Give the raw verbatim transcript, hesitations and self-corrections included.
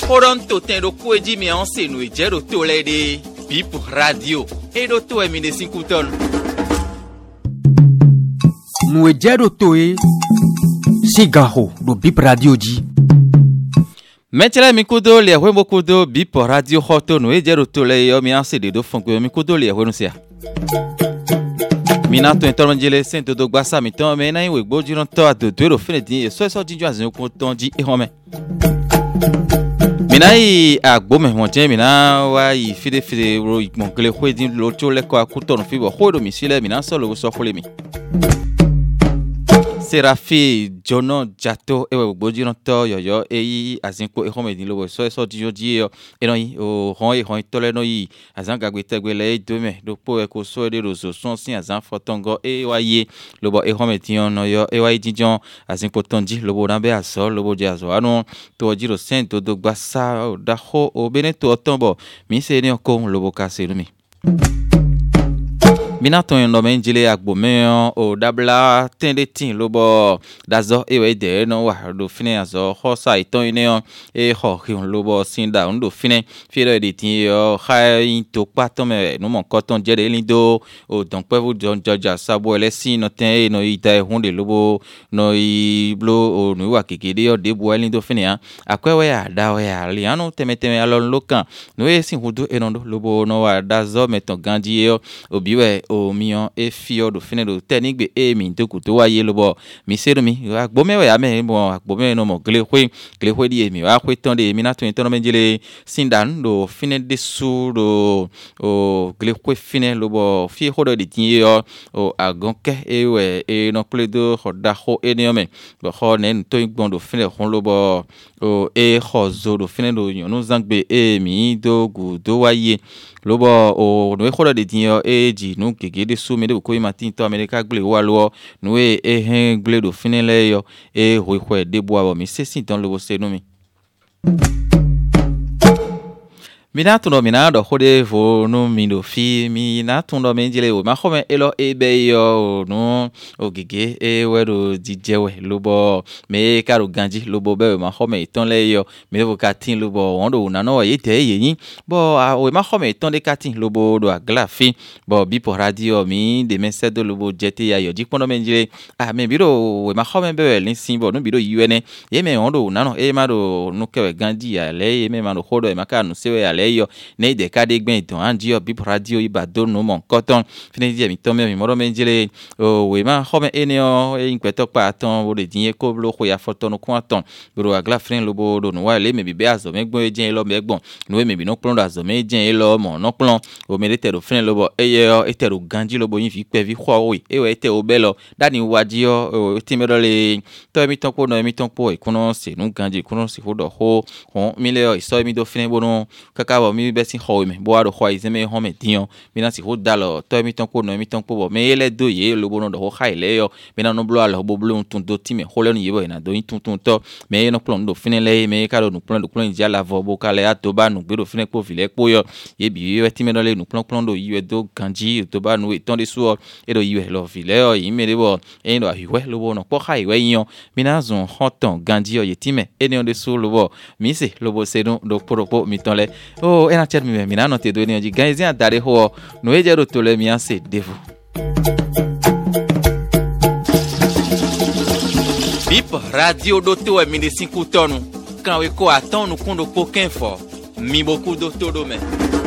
Horonto tendo kueji mi anse no ejero to lede Bip Radio edo to e mi de cinquuton. No ejero to e sigaho do Bip Radio ji. Metela mi kudo le hwemo kudo Bip Radio hoto no ejero to le yo mi anse de do fonko mi kudo le hwenu sia. Mina to entorno jele sento do gbasa mi ton me na iwe gboji ran to adodo ro fene din so so jinju azin ko ton ji e home. Mina yi agbo me won je mina wa yi fide fide ro ikmonkele hwedin lo cho le ko akuto no fibo hodo mi sile mina so lo so khole mi. Serafi Jono Jato ewe gboji ran to yoyo eyi azin ko e home din lo so so jinju ji e no yi o hon e hon to le no yi azan gagbe tegbe le do me do po e ko so de ro so son sin azan fotongo e wa ye lo bo e home tin no yo e wa yi jinjon azin ko tonji lo bo na be aso lo bo je aso anu to jiro sen to do gbasa o da ho o beneto otombo mi se ni ko lo bo ka se mi. Minato no menjile agbo me o dabla tende tin lobo dazo ewe de no wa do fine azo hosa iton ine e ho hiun lobo sinda ndo fine fire de tin yo khai to pato me no mon koton jere lindo o donc pe vous don jaja sabo elesin no ten no ita hunde lobo no i blo o no wa kekede yo de bo lindo fine a akwewe ya da we ya liano temeteme alon lokan no e sin hudu enondo lobo no wa dazo meton ganji yo obiwe o mion e fio do fine do tenigbe e mi to kuto wa ye lobo mi seru mi agbo me ya me bo agbo me no mo gle hwe gle hwe di mi wa hwe ton de mi na to ton me jele sindan do fine de su do o gle hwe fine lobo fi hodo di tin yo o agonke e we e no ple do hoda ho e ne me bo ho ne to igbon do fine hon lobo o e ho zo do fine do yon no zangbe e mi do gu do wa ye lobo o no e hodo di tin yo e ji no gege de so me de ko matin to america gle wa lo no e e hen gle do fine le yo e ho ho de bo abo mi se sin ton lobo se no mi. Mina tundo mina do hode vo no mindo fi mina tundo menjele o ma khome elo e be yo no o gege e wero dijewe lobo me karo ganji lobo be ma khome ton le yo me vo katin lobo wondo na no ye te yin bo o ma khome ton de katin lobo do agla fi bo Bip Radio mi de mense do lobo jete ya yo jikpono menjele ah me biro o ma khome be lin sin bo no biro yuene ye me wondo na no e ma do no ke ganji ya le ye me ma do hodo e ma ka no se ya le yo ne de ka de gben don anji o Bip Radio ibado no mon koton fini di mi to me mi moro menjele o we ma khome ene o e inpeto pa ton o de din ko blo ko ya foto no ko ton bro agla frin lobo do no wa le me bi be azo me gbon ejen lo me gbon no we me bi no plon do azo me ejen lo mo no plon o me de tero frin lobo eye o etero ganji lobo yin fi pe vi kho we e we te o be lo dani waji o ti me do le to mi ton ko no mi ton po e kuno se nu ganji kuno se ho do ho hon mi le o so mi do frin bono kaka bo mi be sin ho me bo ado ho izeme ho me dion mi na si ho dalo to mi ton ko no mi ton po bo me le do ye lo bono do ho khai le yo mi na no blo alo bo blo tun do ti me ho le no ye bo na do yin tun tun to me no plon do fine le me ka do no plon do plon ja la vo bo ka le ato ba no gbe do fine po file po yo ye bi ye ti me no le no plon plon do ye do ganji to ba no e ton de so e do ye lo file yo yin me de bo e do ahiwe lo bo no po khai we yin mi na zon ho ton ganji yo ye ti me e ne on de so lo bo mi se lo bo se do do poropo mi ton le o e na cher mi mina no te do ni oji ganzi adare ho no e jero to le mi anse devu. Bip Radio do to e mi de cinquuton kan we ko aton no kundo poken fo mi boku do todo me.